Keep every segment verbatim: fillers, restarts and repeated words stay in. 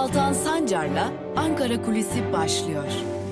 Altan Sancar'la Ankara Kulisi başlıyor.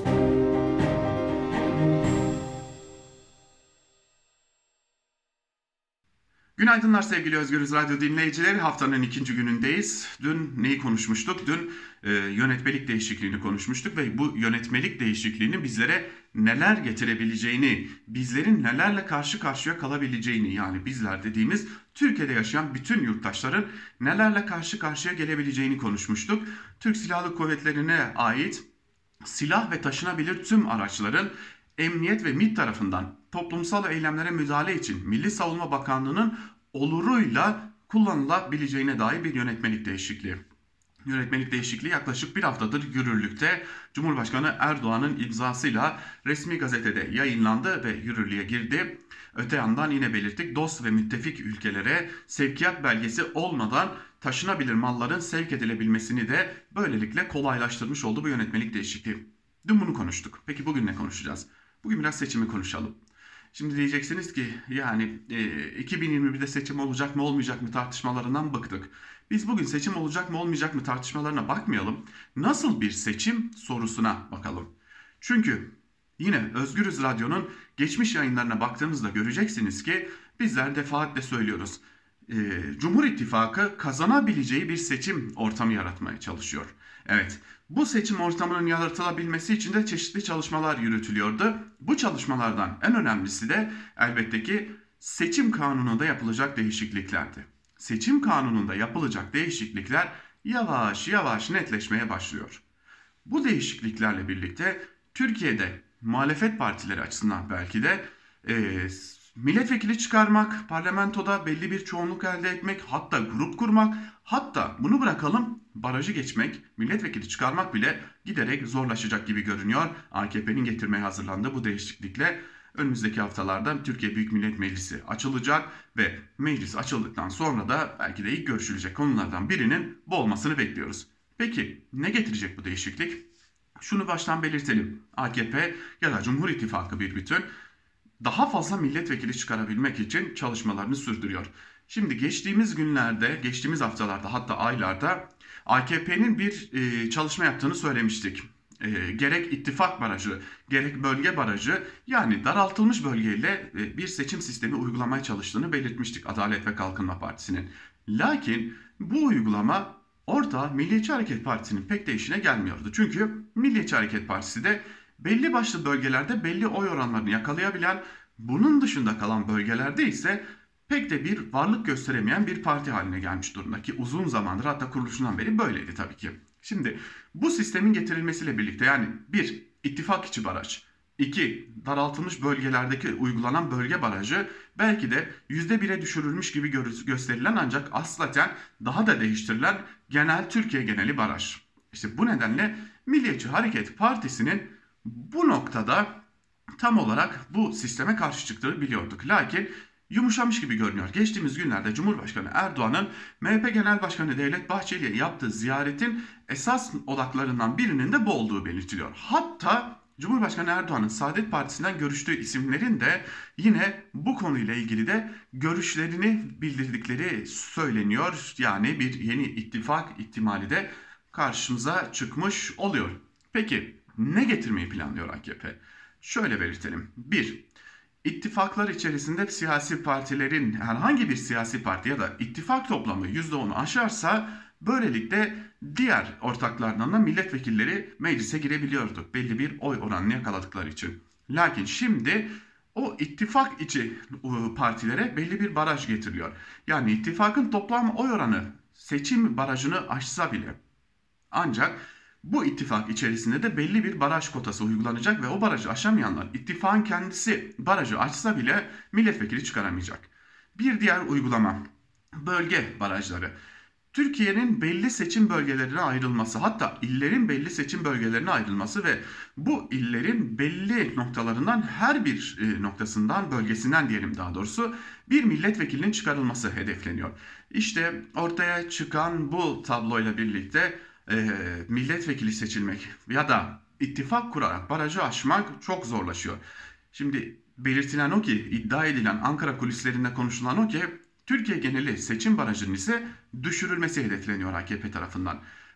Günaydınlar sevgili Özgürüz Radyo dinleyicileri. Haftanın ikinci günündeyiz. Dün neyi konuşmuştuk? Dün e, yönetmelik değişikliğini konuşmuştuk ve bu yönetmelik değişikliğinin bizlere neler getirebileceğini, bizlerin nelerle karşı karşıya kalabileceğini, yani bizler dediğimiz Türkiye'de yaşayan bütün yurttaşların nelerle karşı karşıya gelebileceğini konuşmuştuk. Türk Silahlı Kuvvetleri'ne ait silah ve taşınabilir tüm araçların Emniyet ve MİT tarafından toplumsal eylemlere müdahale için Milli Savunma Bakanlığı'nın oluruyla kullanılabileceğine dair bir yönetmelik değişikliği. Yönetmelik değişikliği yaklaşık bir haftadır yürürlükte. Cumhurbaşkanı Erdoğan'ın imzasıyla resmi gazetede yayınlandı ve yürürlüğe girdi. Öte yandan yine belirttik, dost ve müttefik ülkelere sevkiyat belgesi olmadan taşınabilir malların sevk edilebilmesini de böylelikle kolaylaştırmış oldu bu yönetmelik değişikliği. Dün bunu konuştuk. Peki bugün ne konuşacağız? Bugün biraz seçimi konuşalım. Şimdi diyeceksiniz ki yani e, iki bin yirmi birde seçim olacak mı olmayacak mı tartışmalarından bıktık. Biz bugün seçim olacak mı olmayacak mı tartışmalarına bakmayalım. Nasıl bir seçim sorusuna bakalım. Çünkü yine Özgürüz Radyo'nun geçmiş yayınlarına baktığınızda göreceksiniz ki bizler defaatle söylüyoruz. E, Cumhur İttifakı kazanabileceği bir seçim ortamı yaratmaya çalışıyor. Evet, bu seçim ortamının yaratılabilmesi için de çeşitli çalışmalar yürütülüyordu. Bu çalışmalardan en önemlisi de elbette ki seçim kanununda yapılacak değişikliklerdi. Seçim kanununda yapılacak değişiklikler yavaş yavaş netleşmeye başlıyor. Bu değişikliklerle birlikte Türkiye'de muhalefet partileri açısından belki de e, milletvekili çıkarmak, parlamentoda belli bir çoğunluk elde etmek, hatta grup kurmak, hatta bunu bırakalım barajı geçmek, milletvekili çıkarmak bile giderek zorlaşacak gibi görünüyor. A K P'nin getirmeye hazırlandığı bu değişiklikle önümüzdeki haftalarda Türkiye Büyük Millet Meclisi açılacak ve meclis açıldıktan sonra da belki de ilk görüşülecek konulardan birinin bu olmasını bekliyoruz. Peki ne getirecek bu değişiklik? Şunu baştan belirtelim. A K P ya da Cumhur İttifakı bir bütün daha fazla milletvekili çıkarabilmek için çalışmalarını sürdürüyor. Şimdi geçtiğimiz günlerde, geçtiğimiz haftalarda hatta aylarda A K P'nin bir e, çalışma yaptığını söylemiştik. E, gerek ittifak barajı, gerek bölge barajı, yani daraltılmış bölgeyle e, bir seçim sistemi uygulamaya çalıştığını belirtmiştik Adalet ve Kalkınma Partisi'nin. Lakin bu uygulama orada Milliyetçi Hareket Partisi'nin pek de işine gelmiyordu. Çünkü Milliyetçi Hareket Partisi de belli başlı bölgelerde belli oy oranlarını yakalayabilen, bunun dışında kalan bölgelerde ise pek de bir varlık gösteremeyen bir parti haline gelmiş durumda ki uzun zamandır, hatta kuruluşundan beri böyleydi tabii ki. Şimdi bu sistemin getirilmesiyle birlikte, yani bir ittifak içi baraj, iki daraltılmış bölgelerdeki uygulanan bölge barajı belki de yüzde bire düşürülmüş gibi gösterilen ancak aslaten daha da değiştirilen genel Türkiye geneli baraj. İşte bu nedenle Milliyetçi Hareket Partisi'nin bu noktada tam olarak bu sisteme karşı çıktığını biliyorduk. Lakin yumuşamış gibi görünüyor. Geçtiğimiz günlerde Cumhurbaşkanı Erdoğan'ın M H P Genel Başkanı Devlet Bahçeli'ye yaptığı ziyaretin esas odaklarından birinin de bu olduğu belirtiliyor. Hatta Cumhurbaşkanı Erdoğan'ın Saadet Partisi'nden görüştüğü isimlerin de yine bu konuyla ilgili de görüşlerini bildirdikleri söyleniyor. Yani bir yeni ittifak ihtimali de karşımıza çıkmış oluyor. Peki ne getirmeyi planlıyor A K P? Şöyle belirtelim. bir. İttifaklar içerisinde siyasi partilerin, herhangi bir siyasi parti ya da ittifak toplamı yüzde onu aşarsa böylelikle diğer ortaklardan da milletvekilleri meclise girebiliyordu. Belli bir oy oranını yakaladıkları için. Lakin şimdi o ittifak içi partilere belli bir baraj getiriliyor. Yani ittifakın toplam oy oranı seçim barajını aşsa bile, ancak bu ittifak içerisinde de belli bir baraj kotası uygulanacak ve o barajı aşamayanlar, ittifakın kendisi barajı açsa bile milletvekili çıkaramayacak. Bir diğer uygulama, bölge barajları. Türkiye'nin belli seçim bölgelerine ayrılması, hatta illerin belli seçim bölgelerine ayrılması ve bu illerin belli noktalarından, her bir noktasından, bölgesinden diyelim daha doğrusu, bir milletvekilinin çıkarılması hedefleniyor. İşte ortaya çıkan bu tabloyla birlikte e, milletvekili seçilmek ya da ittifak kurarak barajı aşmak çok zorlaşıyor. Şimdi belirtilen o ki, iddia edilen, Ankara kulislerinde konuşulan o ki, Türkiye geneli seçim barajının ise düşürülmesi hedefleniyor A K P tarafından.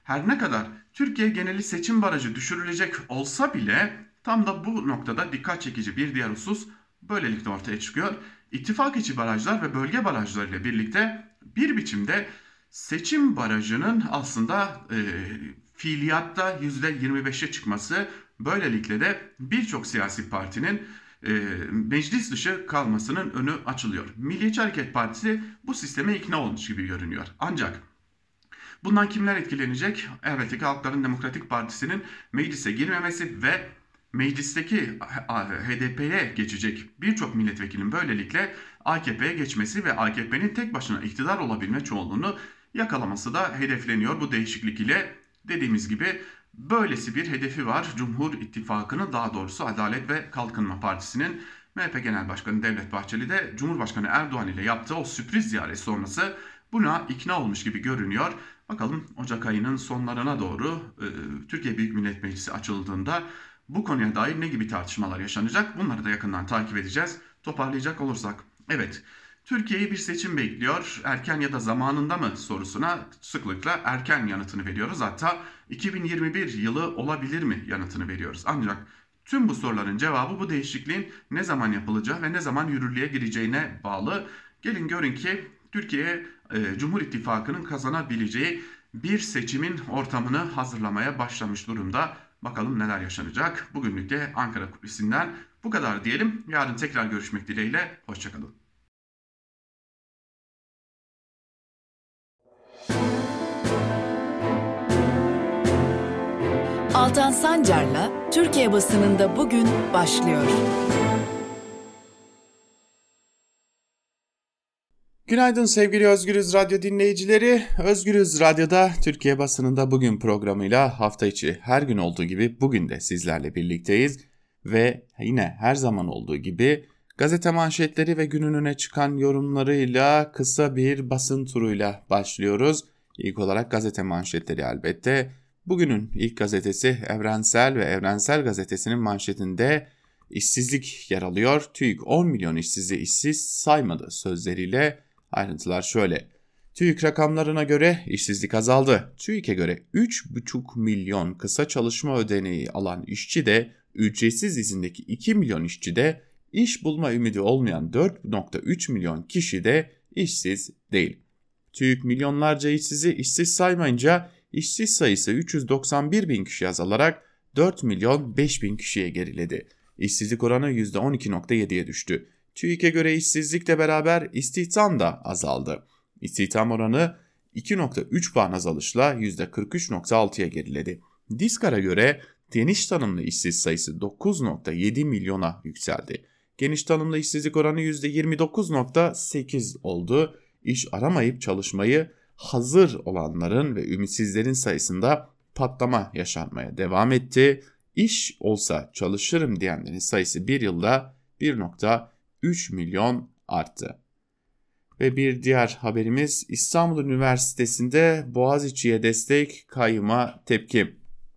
her ne kadar Türkiye geneli seçim barajı düşürülecek olsa bile tam da bu noktada dikkat çekici bir diğer husus böylelikle ortaya çıkıyor. İttifak içi barajlar ve bölge barajları ile birlikte bir biçimde seçim barajının aslında e, fiiliyatta yüzde yirmi beşe çıkması, böylelikle de birçok siyasi partinin e, meclis dışı kalmasının önü açılıyor. Milliyetçi Hareket Partisi bu sisteme ikna olmuş gibi görünüyor. Ancak bundan kimler etkilenecek? Elbette ki Halkların Demokratik Partisi'nin meclise girmemesi ve meclisteki H D P'ye geçecek birçok milletvekilinin böylelikle A K P'ye geçmesi ve A K P'nin tek başına iktidar olabilme çoğunluğunu yakalaması da hedefleniyor bu değişiklik ile. Dediğimiz gibi böylesi bir hedefi var Cumhur İttifakı'nın, daha doğrusu Adalet ve Kalkınma Partisi'nin. M H P Genel Başkanı Devlet Bahçeli de Cumhurbaşkanı Erdoğan ile yaptığı o sürpriz ziyaret sonrası buna ikna olmuş gibi görünüyor. Bakalım Ocak ayının sonlarına doğru e, Türkiye Büyük Millet Meclisi açıldığında bu konuya dair ne gibi tartışmalar yaşanacak? Bunları da yakından takip edeceğiz. Toparlayacak olursak, evet, Türkiye'yi bir seçim bekliyor. Erken ya da zamanında mı sorusuna sıklıkla erken yanıtını veriyoruz. Hatta iki bin yirmi bir yılı olabilir mi yanıtını veriyoruz. Ancak tüm bu soruların cevabı bu değişikliğin ne zaman yapılacağı ve ne zaman yürürlüğe gireceğine bağlı. Gelin görün ki Türkiye e, Cumhur İttifakı'nın kazanabileceği bir seçimin ortamını hazırlamaya başlamış durumda. Bakalım neler yaşanacak. Bugünlük de Ankara Kulisi'nden bu kadar diyelim. Yarın tekrar görüşmek dileğiyle. Hoşçakalın. Altan Sancar'la Türkiye basınında bugün başlıyor. Günaydın sevgili Özgürüz Radyo dinleyicileri. Özgürüz Radyo'da Türkiye basınında bugün programıyla hafta içi her gün olduğu gibi bugün de sizlerle birlikteyiz. Ve yine her zaman olduğu gibi gazete manşetleri ve günün öne çıkan yorumlarıyla kısa bir basın turuyla başlıyoruz. İlk olarak gazete manşetleri elbette. Bugünün ilk gazetesi Evrensel ve Evrensel Gazetesi'nin manşetinde işsizlik yer alıyor. TÜİK on milyon işsizi işsiz saymadı sözleriyle. Ayrıntılar şöyle. TÜİK rakamlarına göre işsizlik azaldı. TÜİK'e göre üç buçuk milyon kısa çalışma ödeneği alan işçi de, ücretsiz izindeki iki milyon işçi de, iş bulma ümidi olmayan dört virgül üç milyon kişi de işsiz değil. TÜİK milyonlarca işsizi işsiz saymayınca işsiz sayısı üç yüz doksan bir bin kişi azalarak dört milyon beş bin kişiye geriledi. İşsizlik oranı yüzde on iki virgül yediye düştü. TÜİK'e göre işsizlikle beraber istihdam da azaldı. İstihdam oranı iki virgül üç puan azalışla yüzde kırk üç virgül altıya geriledi. Diskar'a göre geniş tanımlı işsiz sayısı dokuz virgül yedi milyona yükseldi. Geniş tanımlı işsizlik oranı yüzde yirmi dokuz virgül sekiz oldu. İş aramayıp çalışmayı hazır olanların ve ümitsizlerin sayısında patlama yaşanmaya devam etti. İş olsa çalışırım diyenlerin sayısı bir yılda bir virgül üç milyon arttı. Ve bir diğer haberimiz İstanbul Üniversitesi'nde Boğaziçi'ye destek, kayyıma tepki.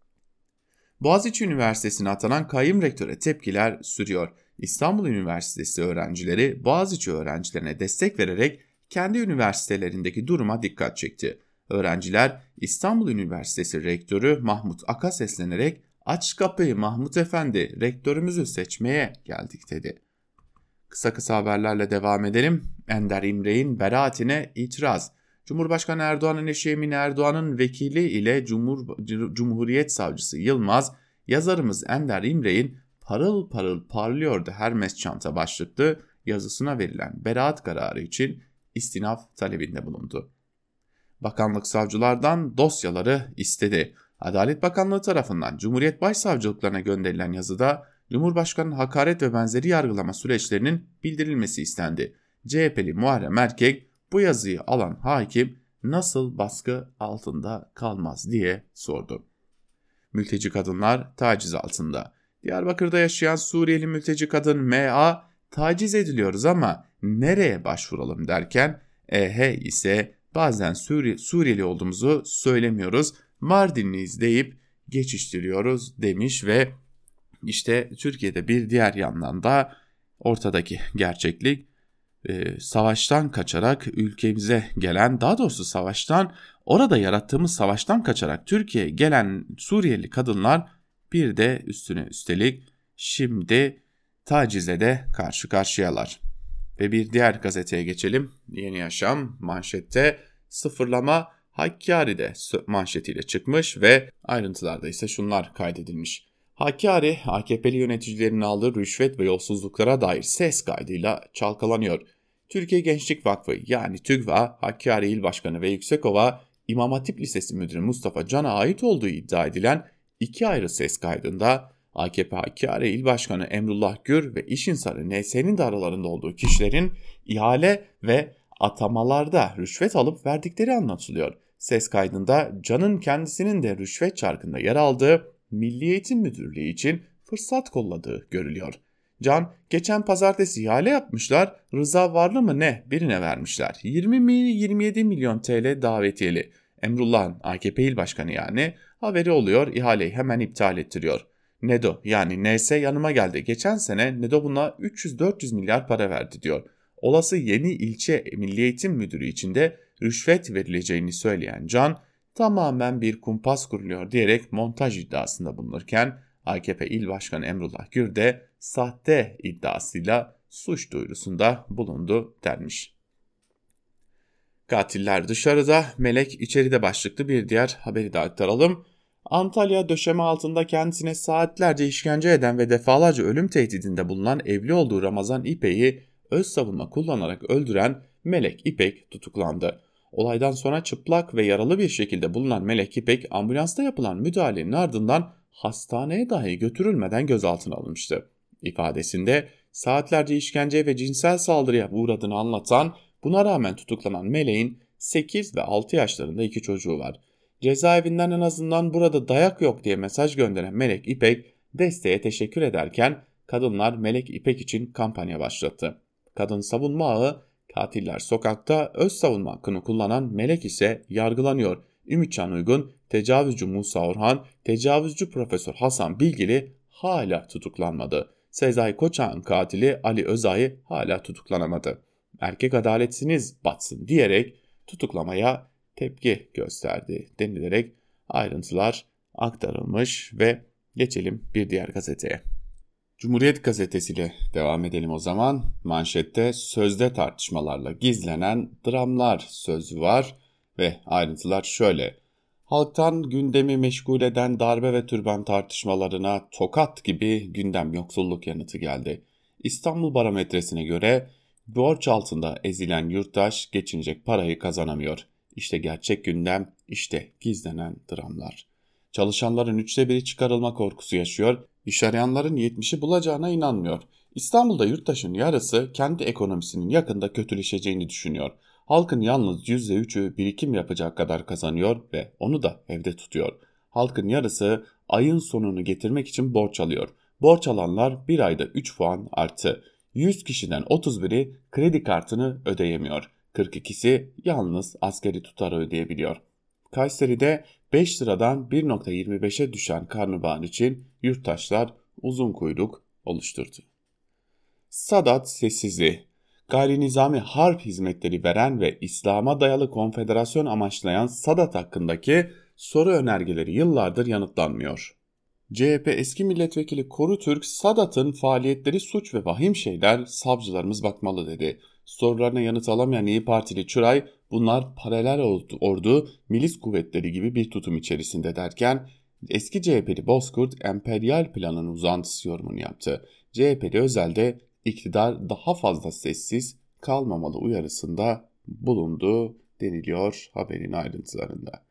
Boğaziçi Üniversitesi'ne atanan kayyım rektöre tepkiler sürüyor. İstanbul Üniversitesi öğrencileri Boğaziçi öğrencilerine destek vererek kendi üniversitelerindeki duruma dikkat çekti. Öğrenciler İstanbul Üniversitesi Rektörü Mahmut Ak'a seslenerek "Aç kapıyı Mahmut Efendi, rektörümüzü seçmeye geldik" dedi. Kısa kısa haberlerle devam edelim. Ender İmre'nin beraatine itiraz. Cumhurbaşkanı Erdoğan'ın eşi Emine Erdoğan'ın vekili ile Cumhur, Cumhuriyet Savcısı Yılmaz, yazarımız Ender İmre'nin "Parıl parıl parlıyordu Hermes çanta" başlıklı yazısına verilen beraat kararı için istinaf talebinde bulundu. Bakanlık savcılardan dosyaları istedi. Adalet Bakanlığı tarafından Cumhuriyet Başsavcılıklarına gönderilen yazıda Cumhurbaşkanı'nın hakaret ve benzeri yargılama süreçlerinin bildirilmesi istendi. C H P'li Muharrem Erkek bu yazıyı alan hakim nasıl baskı altında kalmaz diye sordu. Mülteci kadınlar taciz altında. Diyarbakır'da yaşayan Suriyeli mülteci kadın M A taciz ediliyoruz ama nereye başvuralım derken E H ise bazen Suri- Suriyeli olduğumuzu söylemiyoruz, Mardinliyiz deyip geçiştiriyoruz demiş ve işte Türkiye'de bir diğer yandan da ortadaki gerçeklik e, savaştan kaçarak ülkemize gelen, daha doğrusu savaştan Orada yarattığımız savaştan kaçarak Türkiye'ye gelen Suriyeli kadınlar bir de üstüne üstelik şimdi tacize de karşı karşıyalar. Ve bir diğer gazeteye geçelim. Yeni Yaşam manşette sıfırlama Hakkari'de manşetiyle çıkmış ve ayrıntılarda ise şunlar kaydedilmiş. Hakkari, A K P'li yöneticilerin aldığı rüşvet ve yolsuzluklara dair ses kaydıyla çalkalanıyor. Türkiye Gençlik Vakfı yani TÜGVA, Hakkari İl Başkanı ve Yüksekova İmam Hatip Lisesi Müdürü Mustafa Can'a ait olduğu iddia edilen iki ayrı ses kaydında A K P Hakkari İl Başkanı Emrullah Gür ve iş insanı N S'nin de aralarında olduğu kişilerin ihale ve atamalarda rüşvet alıp verdikleri anlatılıyor. Ses kaydında Can'ın kendisinin de rüşvet çarkında yer aldığı Milli Eğitim Müdürlüğü için fırsat kolladığı görülüyor. Can, geçen pazartesi ihale yapmışlar, Rıza Varlı mı ne birine vermişler. yirmi yirmi yedi milyon T L davetiyeli. Emrullah'ın A K P İl Başkanı yani haberi oluyor, ihaleyi hemen iptal ettiriyor. NEDO yani N S yanıma geldi. Geçen sene NEDO buna üç yüz dört yüz milyar para verdi diyor. Olası yeni ilçe Milli Eğitim Müdürü için de rüşvet verileceğini söyleyen Can, tamamen bir kumpas kuruluyor diyerek montaj iddiasında bulunurken A K P İl Başkanı Emrullah Gür de sahte iddiasıyla suç duyurusunda bulundu denmiş. Katiller dışarıda, melek içeride başlıklı bir diğer haberi de aktaralım. Antalya döşeme altında kendisine saatlerce işkence eden ve defalarca ölüm tehdidinde bulunan evli olduğu Ramazan İpek'i öz savunma kullanarak öldüren Melek İpek tutuklandı. Olaydan sonra çıplak ve yaralı bir şekilde bulunan Melek İpek ambulansta yapılan müdahalenin ardından hastaneye dahi götürülmeden gözaltına alınmıştı. İfadesinde saatlerce işkenceye ve cinsel saldırıya uğradığını anlatan, buna rağmen tutuklanan Melek'in sekiz ve altı yaşlarında iki çocuğu var. Cezaevinden en azından burada dayak yok diye mesaj gönderen Melek İpek desteğe teşekkür ederken kadınlar Melek İpek için kampanya başlattı. Kadın savunma ağı katiller sokakta öz savunma hakkını kullanan Melek ise yargılanıyor. Ümitcan Uygun, tecavüzcü Musa Orhan, tecavüzcü Profesör Hasan Bilgili hala tutuklanmadı. Sezai Koçak'ın katili Ali Özay'ı hala tutuklanamadı. Erkek adaletsiniz batsın diyerek tutuklamaya tepki gösterdi denilerek ayrıntılar aktarılmış ve geçelim bir diğer gazeteye. Cumhuriyet gazetesiyle devam edelim o zaman. Manşette sözde tartışmalarla gizlenen dramlar sözü var ve ayrıntılar şöyle. Halktan gündemi meşgul eden darbe ve türban tartışmalarına tokat gibi gündem yoksulluk yanıtı geldi. İstanbul Barometresi'ne göre borç altında ezilen yurttaş geçinecek parayı kazanamıyor. İşte gerçek gündem, işte gizlenen dramlar. Çalışanların üçte biri çıkarılma korkusu yaşıyor, iş arayanların yetmişi bulacağına inanmıyor. İstanbul'da yurttaşın yarısı kendi ekonomisinin yakında kötüleşeceğini düşünüyor. Halkın yalnız yüzde üçü birikim yapacak kadar kazanıyor ve onu da evde tutuyor. Halkın yarısı ayın sonunu getirmek için borç alıyor. Borç alanlar bir ayda üç puan arttı. yüz kişiden otuz biri kredi kartını ödeyemiyor. kırk ikisi yalnız asgari tutarı ödeyebiliyor. Kayseri'de beş liradan bir virgül yirmi beşe düşen karnabahar için yurttaşlar uzun kuyruk oluşturdu. Sadat sessizliği. Gayri nizami harp hizmetleri veren ve İslam'a dayalı konfederasyon amaçlayan Sadat hakkındaki soru önergeleri yıllardır yanıtlanmıyor. C H P eski milletvekili Koru Türk, Sadat'ın faaliyetleri suç ve vahim şeyler, savcılarımız bakmalı dedi. Sorularına yanıt alamayan İYİ Partili Çıray, bunlar paralel ordu, milis kuvvetleri gibi bir tutum içerisinde derken, eski C H P'li Bozkurt, emperyal planın uzantısı yorumunu yaptı. C H P'li Özel de iktidar daha fazla sessiz kalmamalı uyarısında bulundu deniliyor haberin ayrıntılarında.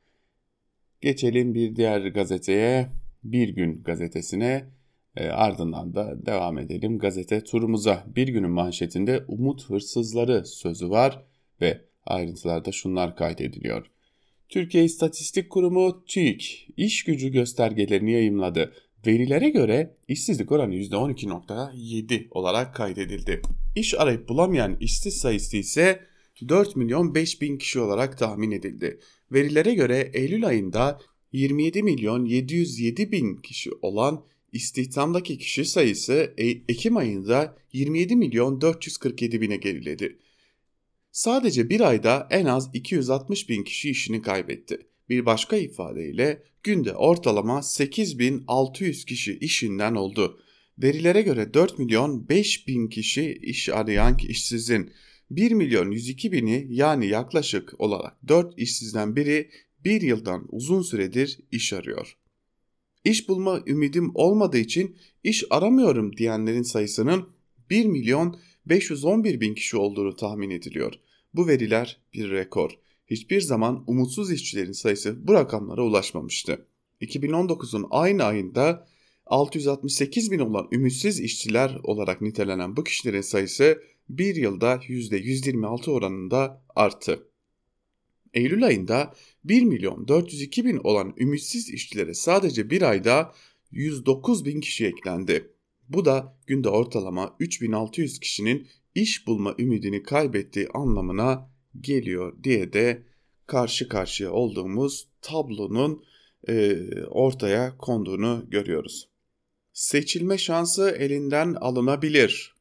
Geçelim bir diğer gazeteye, Bir Gün gazetesine, e, ardından da devam edelim gazete turumuza. Bir Gün'ün manşetinde umut hırsızları sözü var ve ayrıntılarda şunlar kaydediliyor. Türkiye İstatistik Kurumu TÜİK iş gücü göstergelerini yayımladı. Verilere göre işsizlik oranı yüzde on iki virgül yedi olarak kaydedildi. İş arayıp bulamayan işsiz sayısı ise dört milyon beş bin kişi olarak tahmin edildi. Verilere göre Eylül ayında yirmi yedi milyon yedi yüz yedi bin kişi olan istihdamdaki kişi sayısı Ekim ayında yirmi yedi milyon dört yüz kırk yedi bine geriledi. Sadece bir ayda en az iki yüz altmış bin kişi işini kaybetti. Bir başka ifadeyle günde ortalama sekiz bin altı yüz kişi işinden oldu. Verilere göre dört milyon beş bin kişi iş arayan işsizin bir milyon yüz iki bini yani yaklaşık olarak dört işsizden biri bir yıldan uzun süredir iş arıyor. İş bulma ümidim olmadığı için iş aramıyorum diyenlerin sayısının bir milyon beş yüz on bir bin kişi olduğunu tahmin ediliyor. Bu veriler bir rekor. Hiçbir zaman umutsuz işçilerin sayısı bu rakamlara ulaşmamıştı. iki bin on dokuzun aynı ayında altı yüz altmış sekiz bin olan ümitsiz işçiler olarak nitelenen bu kişilerin sayısı bir yılda yüzde yüz yirmi altı oranında arttı. Eylül ayında bir milyon dört yüz iki bin olan ümitsiz işçilere sadece bir ayda yüz dokuz bin kişi eklendi. Bu da günde ortalama üç bin altı yüz kişinin iş bulma ümidini kaybettiği anlamına geliyor diye de karşı karşıya olduğumuz tablonun e, ortaya konduğunu görüyoruz. Seçilme şansı elinden alınabilir.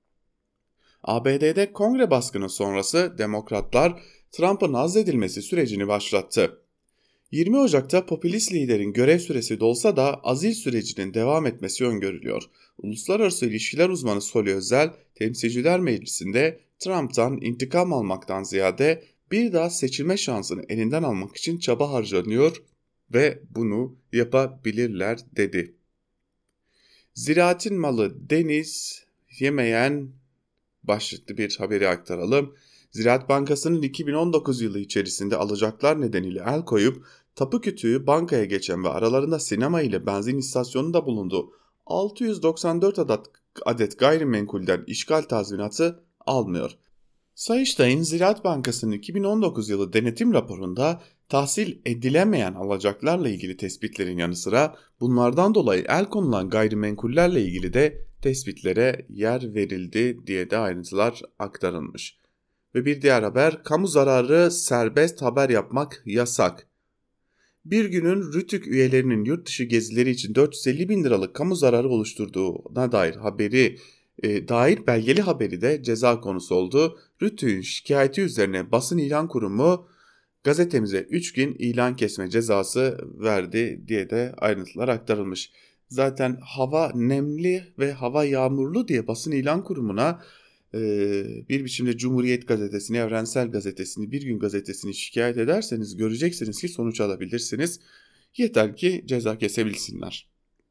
A B D'de kongre baskını sonrası demokratlar Trump'ın azledilmesi sürecini başlattı. yirmi Ocak'ta popülist liderin görev süresi dolsa da azil sürecinin devam etmesi öngörülüyor. Uluslararası ilişkiler uzmanı Soli Özel, Temsilciler Meclisi'nde Trump'tan intikam almaktan ziyade bir daha seçilme şansını elinden almak için çaba harcanıyor ve bunu yapabilirler dedi. Ziraatin malı deniz yemeyen başlıklı bir haberi aktaralım. Ziraat Bankası'nın iki bin on dokuz yılı içerisinde alacaklar nedeniyle el koyup tapu kütüğü bankaya geçen ve aralarında sinema ile benzin istasyonu da bulunduğu altı yüz doksan dört adet, adet gayrimenkulden işgal tazminatı almıyor. Sayıştay'ın Ziraat Bankası'nın iki bin on dokuz yılı denetim raporunda tahsil edilemeyen alacaklarla ilgili tespitlerin yanı sıra bunlardan dolayı el konulan gayrimenkullerle ilgili de tespitlere yer verildi diye de ayrıntılar aktarılmış. Ve bir diğer haber, kamu zararı serbest haber yapmak yasak. Bir günün Rütük üyelerinin yurt dışı gezileri için dört yüz elli bin liralık kamu zararı oluşturduğuna dair haberi e, dair belgeli haberi de ceza konusu oldu. Rütük'ün şikayeti üzerine basın ilan kurumu gazetemize üç gün ilan kesme cezası verdi diye de ayrıntılar aktarılmış. Zaten hava nemli ve hava yağmurlu diye basın ilan kurumuna bir biçimde Cumhuriyet Gazetesi'ni, Evrensel Gazetesi'ni, Bir Gün Gazetesi'ni şikayet ederseniz göreceksiniz ki sonuç alabilirsiniz. Yeter ki ceza kesebilsinler.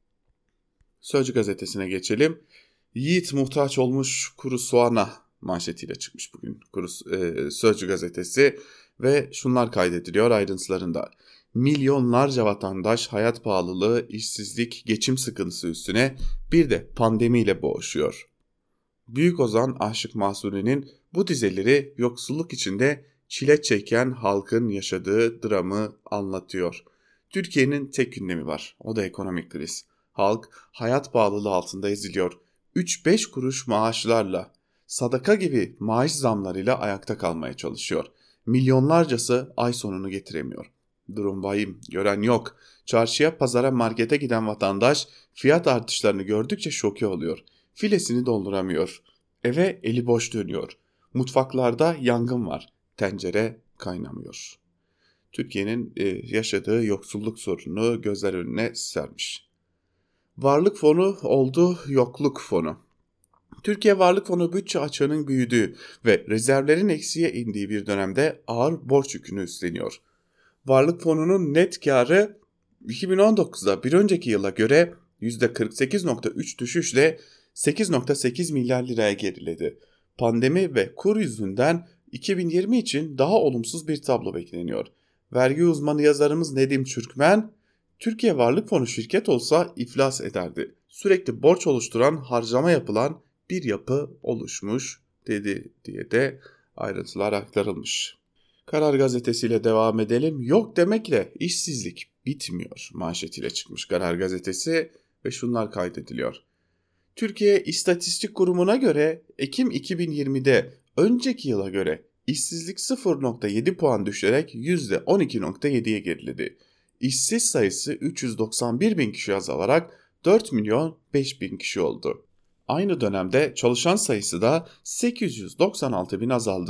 Sözcü Gazetesi'ne geçelim. Yiğit muhtaç olmuş kuru soğana manşetiyle çıkmış bugün kuru, e, Sözcü Gazetesi ve şunlar kaydediliyor ayrıntılarında. Milyonlarca vatandaş hayat pahalılığı, işsizlik, geçim sıkıntısı üstüne bir de pandemiyle boğuşuyor. Büyük ozan Aşık Mahsuni'nin bu dizeleri yoksulluk içinde çile çeken halkın yaşadığı dramı anlatıyor. Türkiye'nin tek gündemi var, o da ekonomik kriz. Halk hayat pahalılığı altında eziliyor. üç beş kuruş maaşlarla, sadaka gibi maaş zamlarıyla ayakta kalmaya çalışıyor. Milyonlarcası ay sonunu getiremiyor. Durum vahim, gören yok. Çarşıya, pazara, markete giden vatandaş fiyat artışlarını gördükçe şoke oluyor. Filesini dolduramıyor. Eve eli boş dönüyor. Mutfaklarda yangın var. Tencere kaynamıyor. Türkiye'nin yaşadığı yoksulluk sorununu gözler önüne sermiş. Varlık fonu oldu yokluk fonu. Türkiye Varlık Fonu bütçe açığının büyüdüğü ve rezervlerin eksiye indiği bir dönemde ağır borç yükünü üstleniyor. Varlık fonunun net karı iki bin on dokuzda bir önceki yıla göre yüzde kırk sekiz virgül üç düşüşle sekiz virgül sekiz milyar liraya geriledi. Pandemi ve kur yüzünden iki bin yirmi için daha olumsuz bir tablo bekleniyor. Vergi uzmanı yazarımız Nedim Çürkmen, Türkiye Varlık Fonu şirket olsa iflas ederdi. Sürekli borç oluşturan, harcama yapılan bir yapı oluşmuş dedi diye de ayrıntılar aktarılmış. Karar Gazetesi'yle devam edelim. Yok demekle işsizlik bitmiyor manşetiyle çıkmış Karar Gazetesi ve şunlar kaydediliyor. Türkiye İstatistik Kurumu'na göre Ekim iki bin yirmide önceki yıla göre işsizlik sıfır virgül yedi puan düşerek yüzde on iki virgül yediye geriledi. İşsiz sayısı üç yüz doksan bir bin kişi azalarak dört milyon beş bin kişi oldu. Aynı dönemde çalışan sayısı da sekiz yüz doksan altı bin azaldı.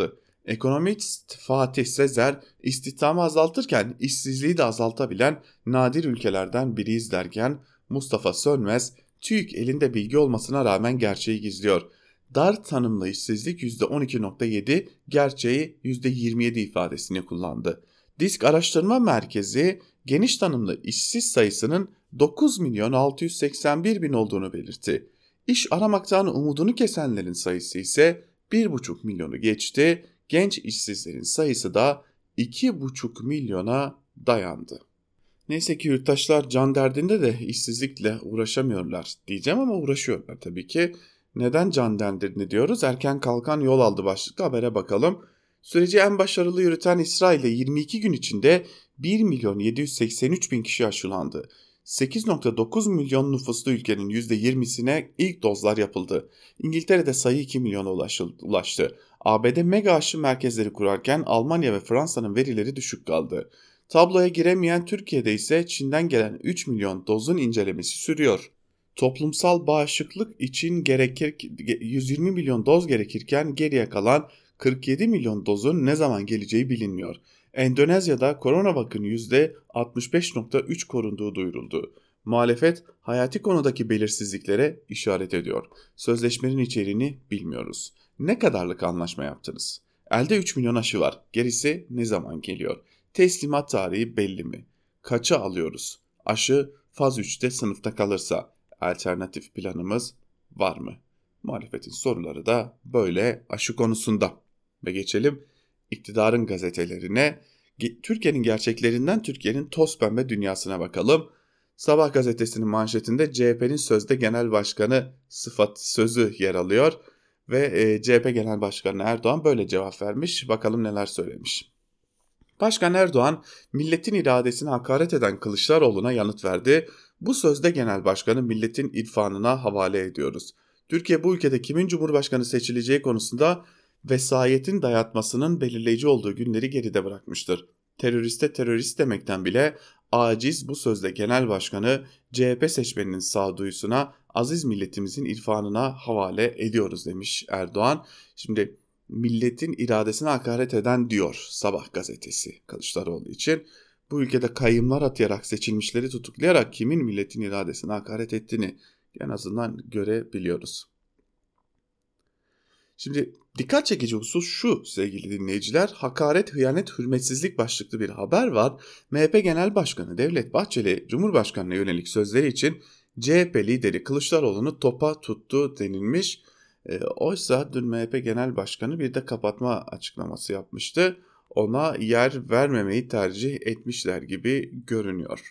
Ekonomist Fatih Sezer, istihdamı azaltırken işsizliği de azaltabilen nadir ülkelerden biriyiz derken, Mustafa Sönmez, TÜİK elinde bilgi olmasına rağmen gerçeği gizliyor. Dar tanımlı işsizlik yüzde on iki virgül yedi, gerçeği yüzde yirmi yedi ifadesini kullandı. Disk Araştırma Merkezi, geniş tanımlı işsiz sayısının dokuz milyon altı yüz seksen bir bin olduğunu belirtti. İş aramaktan umudunu kesenlerin sayısı ise bir buçuk milyonu geçti. Genç işsizlerin sayısı da iki buçuk milyona dayandı. Neyse ki yurttaşlar can derdinde de işsizlikle uğraşamıyorlar diyeceğim ama uğraşıyorlar tabii ki. Neden can derdinde diyoruz? Erken kalkan yol aldı başlıklı habere bakalım. Süreci en başarılı yürüten İsrail'de yirmi iki gün içinde bir milyon yedi yüz seksen üç bin kişi aşılandı. sekiz virgül dokuz milyon nüfuslu ülkenin yüzde yirmisine ilk dozlar yapıldı. İngiltere'de sayı iki milyona ulaştı. A B D mega aşı merkezleri kurarken Almanya ve Fransa'nın verileri düşük kaldı. Tabloya giremeyen Türkiye'de ise Çin'den gelen üç milyon dozun incelemesi sürüyor. Toplumsal bağışıklık için gerekir, yüz yirmi milyon doz gerekirken geriye kalan kırk yedi milyon dozun ne zaman geleceği bilinmiyor. Endonezya'da koronavakın yüzde altmış beş virgül üç korunduğu duyuruldu. Muhalefet hayati konudaki belirsizliklere işaret ediyor. Sözleşmenin içeriğini bilmiyoruz. Ne kadarlık anlaşma yaptınız? Elde üç milyon aşı var. Gerisi ne zaman geliyor? Teslimat tarihi belli mi? Kaça alıyoruz? Aşı faz üçte sınıfta kalırsa alternatif planımız var mı? Muhalefetin soruları da böyle aşı konusunda. Ve geçelim iktidarın gazetelerine. Türkiye'nin gerçeklerinden Türkiye'nin toz pembe dünyasına bakalım. Sabah gazetesinin manşetinde C H P'nin sözde genel başkanı sıfat sözü yer alıyor. Ve C H P Genel Başkanı Erdoğan böyle cevap vermiş. Bakalım neler söylemiş. Başkan Erdoğan, milletin iradesine hakaret eden Kılıçdaroğlu'na yanıt verdi. Bu sözde genel başkanı milletin irfanına havale ediyoruz. Türkiye bu ülkede kimin cumhurbaşkanı seçileceği konusunda vesayetin dayatmasının belirleyici olduğu günleri geride bırakmıştır. Teröriste terörist demekten bile aciz bu sözde genel başkanı C H P seçmeninin sağduyusuna, aziz milletimizin irfanına havale ediyoruz demiş Erdoğan. Şimdi milletin iradesine hakaret eden diyor Sabah gazetesi Kılıçdaroğlu için. Bu ülkede kayyımlar atayarak seçilmişleri tutuklayarak kimin milletin iradesine hakaret ettiğini en azından görebiliyoruz. Şimdi dikkat çekici husus şu sevgili dinleyiciler, hakaret, hıyanet, hürmetsizlik başlıklı bir haber var. M H P Genel Başkanı Devlet Bahçeli, Cumhurbaşkanı'na yönelik sözleri için C H P lideri Kılıçdaroğlu'nu topa tuttu denilmiş. E, oysa dün M H P Genel Başkanı bir de kapatma açıklaması yapmıştı. Ona yer vermemeyi tercih etmişler gibi görünüyor.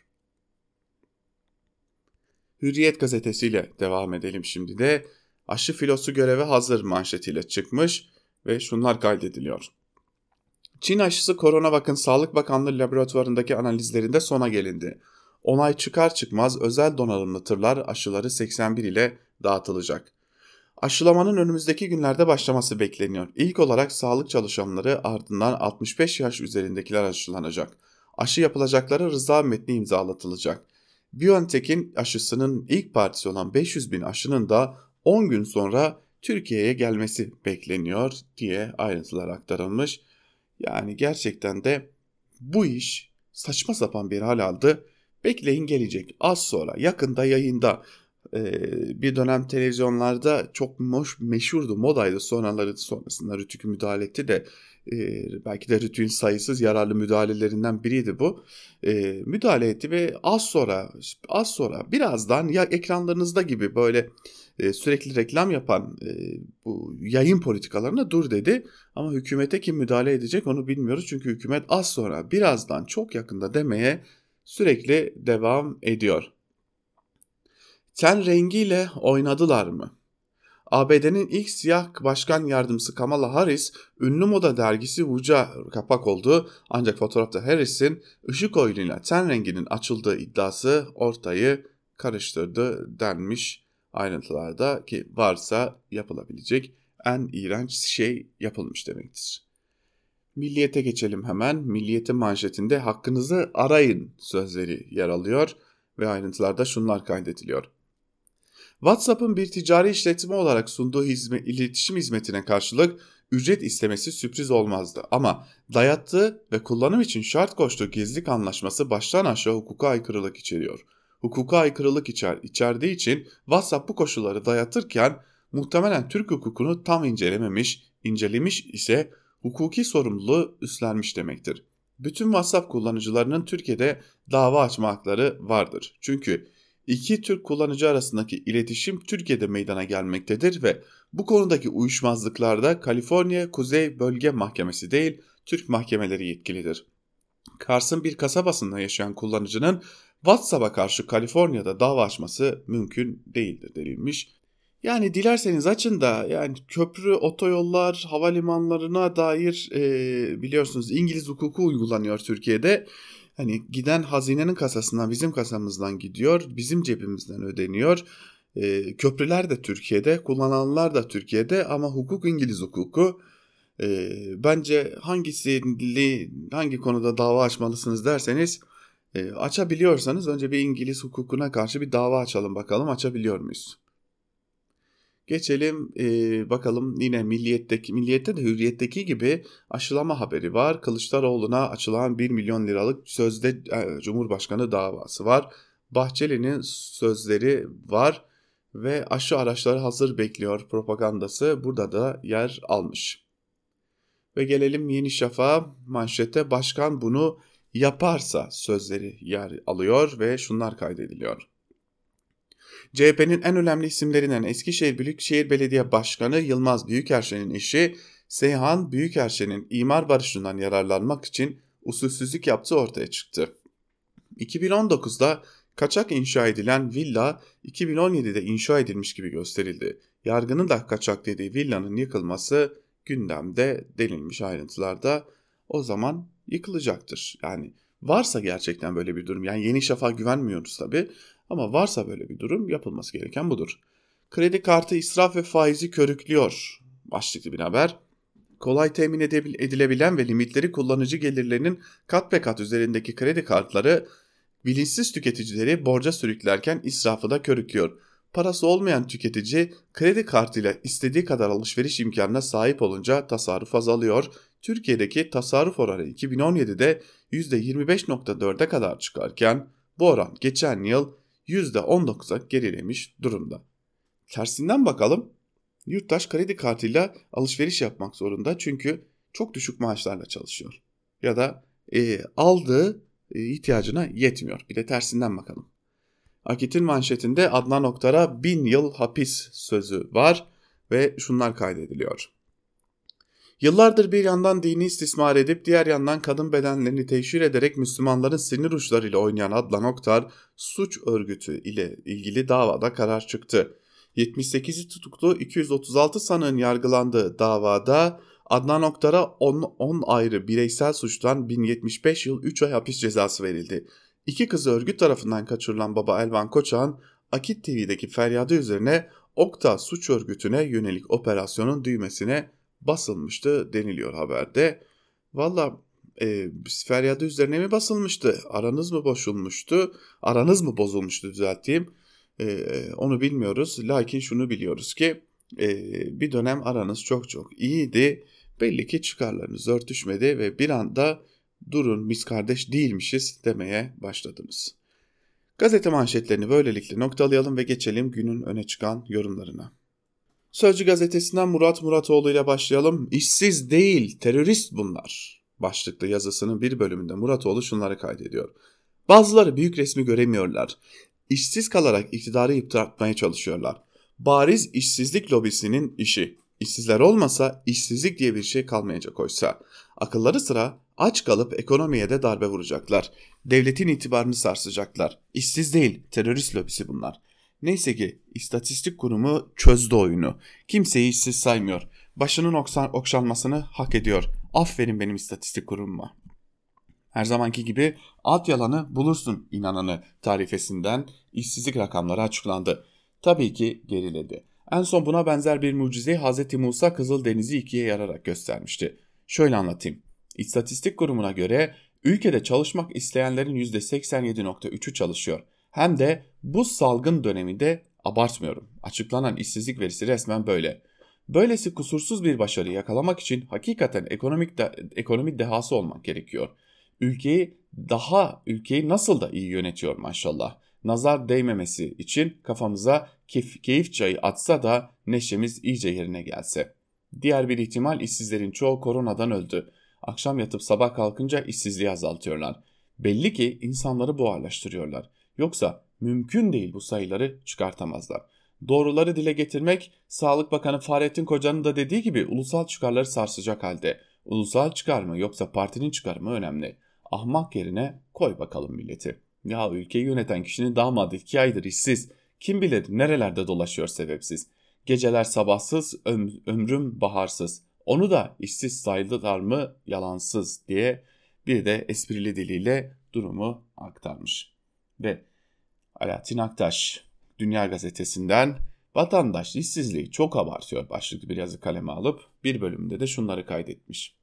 Hürriyet gazetesiyle devam edelim şimdi de. Aşı filosu göreve hazır manşetiyle çıkmış ve şunlar kaydediliyor. Çin aşısı Coronavac'ın Sağlık Bakanlığı laboratuvarındaki analizlerinde sona gelindi. Onay çıkar çıkmaz özel donanımlı tırlar aşıları seksen bir ile dağıtılacak. Aşılamanın önümüzdeki günlerde başlaması bekleniyor. İlk olarak sağlık çalışanları, ardından altmış beş yaş üzerindekiler aşılanacak. Aşı yapılacaklara rıza metni imzalatılacak. BioNTech'in aşısının ilk partisi olan beş yüz bin aşının da on gün sonra Türkiye'ye gelmesi bekleniyor diye ayrıntılar aktarılmış. Yani gerçekten de bu iş saçma sapan bir hal aldı. Bekleyin gelecek az sonra, yakında yayında. Bir dönem televizyonlarda çok moş, meşhurdu, modaydı. Sonraları sonrasında Rütük müdahale etti de e, belki de Rütük'ün sayısız yararlı müdahalelerinden biriydi bu. E, müdahale etti ve az sonra, az sonra birazdan ya ekranlarınızda gibi böyle e, sürekli reklam yapan e, bu yayın politikalarına dur dedi. Ama hükümete kim müdahale edecek onu bilmiyoruz. Çünkü hükümet az sonra, birazdan, çok yakında demeye sürekli devam ediyor. Ten rengiyle oynadılar mı? A B D'nin ilk siyah başkan yardımcısı Kamala Harris, ünlü moda dergisi Vogue'a kapak oldu. Ancak fotoğrafta Harris'in ışık oyunuyla ten renginin açıldığı iddiası ortayı karıştırdı denmiş ayrıntılarda, ki varsa yapılabilecek en iğrenç şey yapılmış demektir. Milliyet'e geçelim hemen. Milliyet'in manşetinde hakkınızı arayın sözleri yer alıyor ve ayrıntılarda şunlar kaydediliyor. WhatsApp'ın bir ticari işletme olarak sunduğu hizmet, iletişim hizmetine karşılık ücret istemesi sürpriz olmazdı. Ama dayattığı ve kullanım için şart koştuğu gizlilik anlaşması baştan aşağı hukuka aykırılık içeriyor. Hukuka aykırılık içer, içerdiği için WhatsApp bu koşulları dayatırken muhtemelen Türk hukukunu tam incelememiş, incelemiş ise hukuki sorumluluğu üstlenmiş demektir. Bütün WhatsApp kullanıcılarının Türkiye'de dava açma hakları vardır. Çünkü iki Türk kullanıcı arasındaki iletişim Türkiye'de meydana gelmektedir ve bu konudaki uyuşmazlıklarda Kaliforniya Kuzey Bölge Mahkemesi değil, Türk mahkemeleri yetkilidir. Kars'ın bir kasabasında yaşayan kullanıcının WhatsApp'a karşı Kaliforniya'da dava açması mümkün değildir denilmiş. Yani dilerseniz açın da yani köprü, otoyollar, havalimanlarına dair e, biliyorsunuz İngiliz hukuku uygulanıyor Türkiye'de. Hani giden hazinenin kasasından bizim kasamızdan gidiyor, bizim cebimizden ödeniyor. E, köprüler de Türkiye'de, kullananlar da Türkiye'de ama hukuk İngiliz hukuku. E, bence hangisini, hangi konuda dava açmalısınız derseniz e, açabiliyorsanız önce bir İngiliz hukukuna karşı bir dava açalım bakalım açabiliyor muyuz? Geçelim e, bakalım yine Milliyet'teki, Milliyet'te de Hürriyet'teki gibi aşılama haberi var. Kılıçdaroğlu'na açılan bir milyon liralık sözde e, Cumhurbaşkanı davası var. Bahçeli'nin sözleri var ve aşı araçları hazır bekliyor propagandası burada da yer almış. Ve gelelim Yeni Şafak'a, manşette başkan bunu yaparsa sözleri yer alıyor ve şunlar kaydediliyor. C H P'nin en önemli isimlerinden Eskişehir Büyükşehir Belediye Başkanı Yılmaz Büyükerşen'in eşi Seyhan Büyükerşen'in imar barışından yararlanmak için usulsüzlük yaptığı ortaya çıktı. iki bin on dokuzda kaçak inşa edilen villa iki bin on yedide inşa edilmiş gibi gösterildi. Yargının da kaçak dediği villanın yıkılması gündemde denilmiş ayrıntılarda. O zaman yıkılacaktır. Yani varsa gerçekten böyle bir durum, yani Yeni Şafak'a güvenmiyoruz tabii ama varsa böyle bir durum yapılması gereken budur. Kredi kartı israf ve faizi körüklüyor başlıklı bir haber. Kolay temin edilebilen ve limitleri kullanıcı gelirlerinin kat be kat üzerindeki kredi kartları bilinçsiz tüketicileri borca sürüklerken israfı da körüklüyor. Parası olmayan tüketici kredi kartıyla istediği kadar alışveriş imkanına sahip olunca tasarruf azalıyor. Türkiye'deki tasarruf oranı iki bin on yedide yüzde yirmi beş virgül dörde kadar çıkarken bu oran geçen yıl yüzde on dokuza gerilemiş durumda. Tersinden bakalım, yurttaş kredi kartıyla alışveriş yapmak zorunda çünkü çok düşük maaşlarla çalışıyor. Ya da e, aldığı e, ihtiyacına yetmiyor. Bir de tersinden bakalım. Akit'in manşetinde Adnan Oktar'a bin yıl hapis sözü var ve şunlar kaydediliyor. Yıllardır bir yandan dini istismar edip diğer yandan kadın bedenlerini teşhir ederek Müslümanların sinir uçlarıyla oynayan Adnan Oktar suç örgütü ile ilgili davada karar çıktı. yetmiş sekizi tutuklu iki yüz otuz altı sanığın yargılandığı davada Adnan Oktar'a on ayrı bireysel suçtan bin yetmiş beş yıl üç ay hapis cezası verildi. İki kızı örgüt tarafından kaçırılan baba Elvan Koçak'ın Akit T V'deki feryadı üzerine Okta suç örgütüne yönelik operasyonun düğmesine basılmıştı deniliyor haberde. Valla e, feryadı üzerine mi basılmıştı? Aranız mı bozulmuştu? Aranız mı bozulmuştu düzelteyim. E, onu bilmiyoruz. Lakin şunu biliyoruz ki e, bir dönem aranız çok çok iyiydi. Belli ki çıkarlarınız örtüşmedi ve bir anda durun biz kardeş değilmişiz demeye başladınız. Gazete manşetlerini böylelikle noktalayalım ve geçelim günün öne çıkan yorumlarına. Sözcü gazetesinden Murat Muratoğlu ile başlayalım. İşsiz değil, terörist bunlar başlıklı yazısının bir bölümünde Muratoğlu şunları kaydediyor. Bazıları büyük resmi göremiyorlar. İşsiz kalarak iktidarı yıpratmaya çalışıyorlar. Bariz işsizlik lobisinin işi. İşsizler olmasa işsizlik diye bir şey kalmayacak oysa. Akılları sıra aç kalıp ekonomiye de darbe vuracaklar. Devletin itibarını sarsacaklar. İşsiz değil, terörist lobisi bunlar. Neyse ki istatistik kurumu çözdü oyunu. Kimseyi işsiz saymıyor. Başının oksan, okşanmasını hak ediyor. Aferin benim istatistik kurumuma. Her zamanki gibi alt yalanı bulursun inananı tarifesinden işsizlik rakamları açıklandı. Tabii ki geriledi. En son buna benzer bir mucizeyi Hz. Musa Kızıldeniz'i ikiye yararak göstermişti. Şöyle anlatayım. İstatistik kurumuna göre ülkede çalışmak isteyenlerin yüzde seksen yedi virgül üçü çalışıyor. Hem de bu salgın döneminde abartmıyorum. Açıklanan işsizlik verisi resmen böyle. Böylesi kusursuz bir başarı yakalamak için hakikaten ekonomik de, ekonomi dehası olmak gerekiyor. Ülkeyi daha ülkeyi nasıl da iyi yönetiyor maşallah. Nazar değmemesi için kafamıza keyif, keyif çayı atsa da neşemiz iyice yerine gelse. Diğer bir ihtimal işsizlerin çoğu koronadan öldü. Akşam yatıp sabah kalkınca işsizliği azaltıyorlar. Belli ki insanları buharlaştırıyorlar. Yoksa mümkün değil bu sayıları çıkartamazlar. Doğruları dile getirmek, Sağlık Bakanı Fahrettin Koca'nın da dediği gibi ulusal çıkarları sarsacak halde. Ulusal çıkar mı yoksa partinin çıkarı mı önemli. Ahmak yerine koy bakalım milleti. Ya ülkeyi yöneten kişinin damadı iki aydır işsiz. Kim bilir nerelerde dolaşıyor sebepsiz. Geceler sabahsız, öm- ömrüm baharsız. Onu da işsiz saydılar mı yalansız diye bir de esprili diliyle durumu aktarmış. Ve Alaaddin Aktaş Dünya Gazetesi'nden vatandaş işsizliği çok abartıyor başlıklı bir yazı kaleme alıp bir bölümünde de şunları kaydetmiş.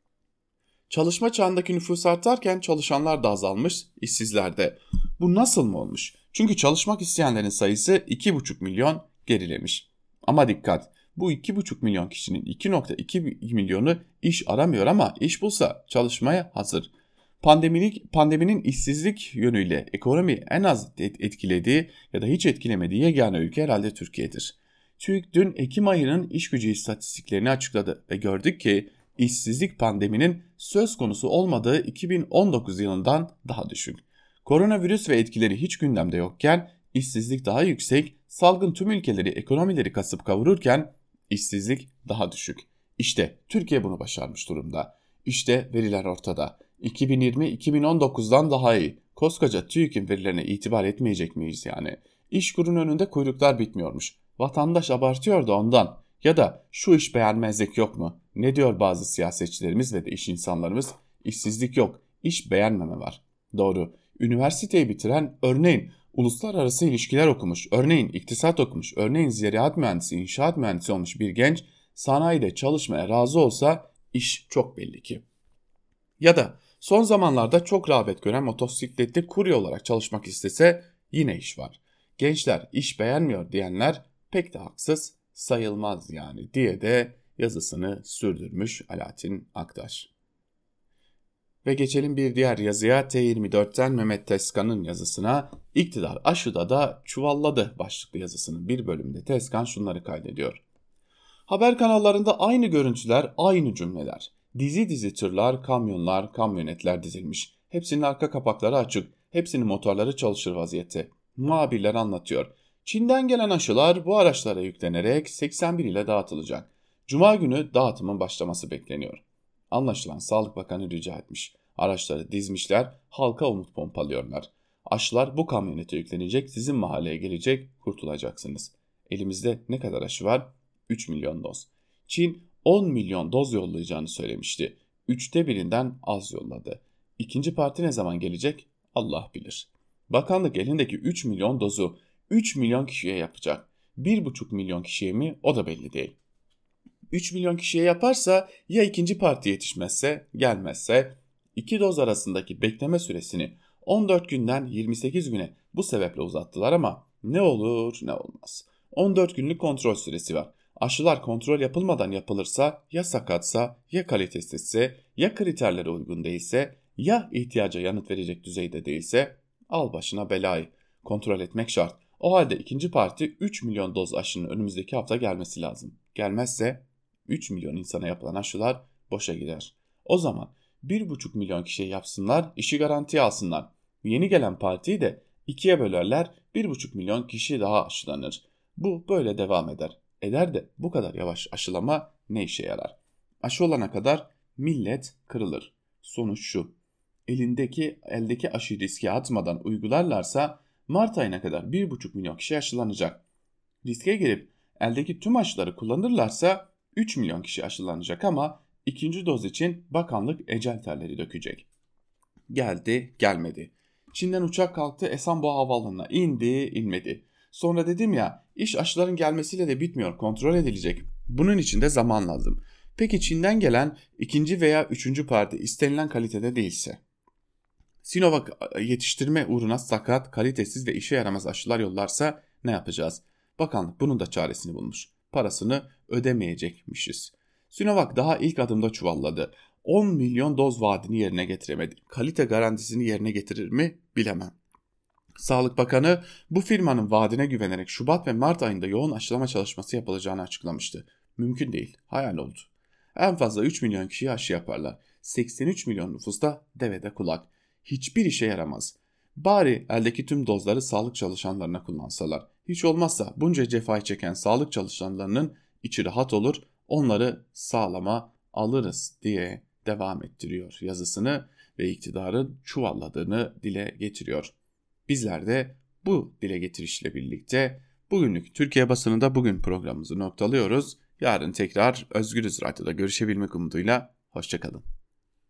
Çalışma çağındaki nüfus artarken çalışanlar da azalmış, işsizler de. Bu nasıl mı olmuş? Çünkü çalışmak isteyenlerin sayısı iki buçuk milyon gerilemiş. Ama dikkat, bu iki buçuk milyon kişinin iki virgül iki milyonu iş aramıyor ama iş bulsa çalışmaya hazır. Pandemilik, pandeminin işsizlik yönüyle ekonomi en az etkilediği ya da hiç etkilemediği yegane ülke herhalde Türkiye'dir. TÜİK dün Ekim ayının iş gücü istatistiklerini açıkladı ve gördük ki işsizlik pandeminin söz konusu olmadığı iki bin on dokuz yılından daha düşük. Koronavirüs ve etkileri hiç gündemde yokken işsizlik daha yüksek, salgın tüm ülkeleri ekonomileri kasıp kavururken işsizlik daha düşük. İşte Türkiye bunu başarmış durumda. İşte veriler ortada. iki bin yirmi iki bin on dokuzdan daha iyi. Koskoca TÜİK'in verilerine itibar etmeyecek miyiz yani? İşkurun önünde kuyruklar bitmiyormuş. Vatandaş abartıyor da ondan. Ya da şu iş beğenmezlik yok mu? Ne diyor bazı siyasetçilerimiz ve de iş insanlarımız? İşsizlik yok, iş beğenmeme var. Doğru. Üniversiteyi bitiren, örneğin uluslararası ilişkiler okumuş, örneğin iktisat okumuş, örneğin ziraat mühendisi, inşaat mühendisi olmuş bir genç sanayide çalışmaya razı olsa iş çok belli ki. Ya da son zamanlarda çok rağbet gören motosikletli kurye olarak çalışmak istese yine iş var. Gençler iş beğenmiyor diyenler pek de haksız sayılmaz yani diye de yazısını sürdürmüş Alaaddin Aktaş. Ve geçelim bir diğer yazıya, T yirmi dörtten Mehmet Tezkan'ın yazısına. İktidar aşıda da çuvalladı başlıklı yazısının bir bölümünde Tezkan şunları kaydediyor. Haber kanallarında aynı görüntüler, aynı cümleler. Dizi dizi tırlar, kamyonlar, kamyonetler dizilmiş. Hepsinin arka kapakları açık. Hepsinin motorları çalışır vaziyette. Muhabirler anlatıyor. Çin'den gelen aşılar bu araçlara yüklenerek seksen bir ile dağıtılacak. Cuma günü dağıtımın başlaması bekleniyor. Anlaşılan Sağlık Bakanı rica etmiş. Araçları dizmişler, halka umut pompalıyorlar. Aşılar bu kamyonete yüklenecek, sizin mahalleye gelecek, kurtulacaksınız. Elimizde ne kadar aşı var? üç milyon doz. Çin on milyon doz yollayacağını söylemişti. Üçte birinden az yolladı. İkinci parti ne zaman gelecek? Allah bilir. Bakanlık elindeki üç milyon dozu üç milyon kişiye yapacak. bir buçuk milyon kişiye mi? O da belli değil. üç milyon kişiye yaparsa ya ikinci parti yetişmezse, gelmezse iki doz arasındaki bekleme süresini on dört günden yirmi sekiz güne bu sebeple uzattılar ama ne olur ne olmaz. on dört günlük kontrol süresi var. Aşılar kontrol yapılmadan yapılırsa ya sakatsa ya kalitesizse ya kriterlere uygun değilse ya ihtiyaca yanıt verecek düzeyde değilse al başına belayı. Kontrol etmek şart. O halde ikinci parti üç milyon doz aşının önümüzdeki hafta gelmesi lazım. Gelmezse üç milyon insana yapılan aşılar boşa gider. O zaman bir buçuk milyon kişiye yapsınlar, işi garantiye alsınlar. Yeni gelen partiyi de ikiye bölerler, bir buçuk milyon kişi daha aşılanır. Bu böyle devam eder. Eder de bu kadar yavaş aşılama ne işe yarar? Aşı olana kadar millet kırılır. Sonuç şu: elindeki eldeki aşı riske atmadan uygularlarsa Mart ayına kadar bir buçuk milyon kişi aşılanacak. Riske girip eldeki tüm aşıları kullanırlarsa üç milyon kişi aşılanacak ama ikinci doz için bakanlık ecel terleri dökecek. Geldi, gelmedi. Çin'den uçak kalktı, Esenboğa Havaalanı'na indi, inmedi. Sonra dedim ya, iş aşıların gelmesiyle de bitmiyor, kontrol edilecek. Bunun için de zaman lazım. Peki Çin'den gelen ikinci veya üçüncü parti istenilen kalitede değilse? Sinovac yetiştirme uğruna sakat, kalitesiz ve işe yaramaz aşılar yollarsa ne yapacağız? Bakanlık bunun da çaresini bulmuş. Parasını ödemeyecekmişiz. Sinovac daha ilk adımda çuvalladı. on milyon doz vaadini yerine getiremedi. Kalite garantisini yerine getirir mi bilemem. Sağlık Bakanı bu firmanın vaadine güvenerek Şubat ve Mart ayında yoğun aşılama çalışması yapılacağını açıklamıştı. Mümkün değil, hayal oldu. En fazla üç milyon kişiye aşı yaparlar. seksen üç milyon nüfusta devede kulak. Hiçbir işe yaramaz. Bari eldeki tüm dozları sağlık çalışanlarına kullansalar. Hiç olmazsa bunca cefayı çeken sağlık çalışanlarının içi rahat olur, onları sağlama alırız diye devam ettiriyor yazısını ve iktidarın çuvalladığını dile getiriyor. Bizler de bu dile getirişle birlikte bugünlük Türkiye Basınında Bugün programımızı noktalıyoruz. Yarın tekrar Özgürüz Radyo'da görüşebilmek umuduyla hoşça kalın.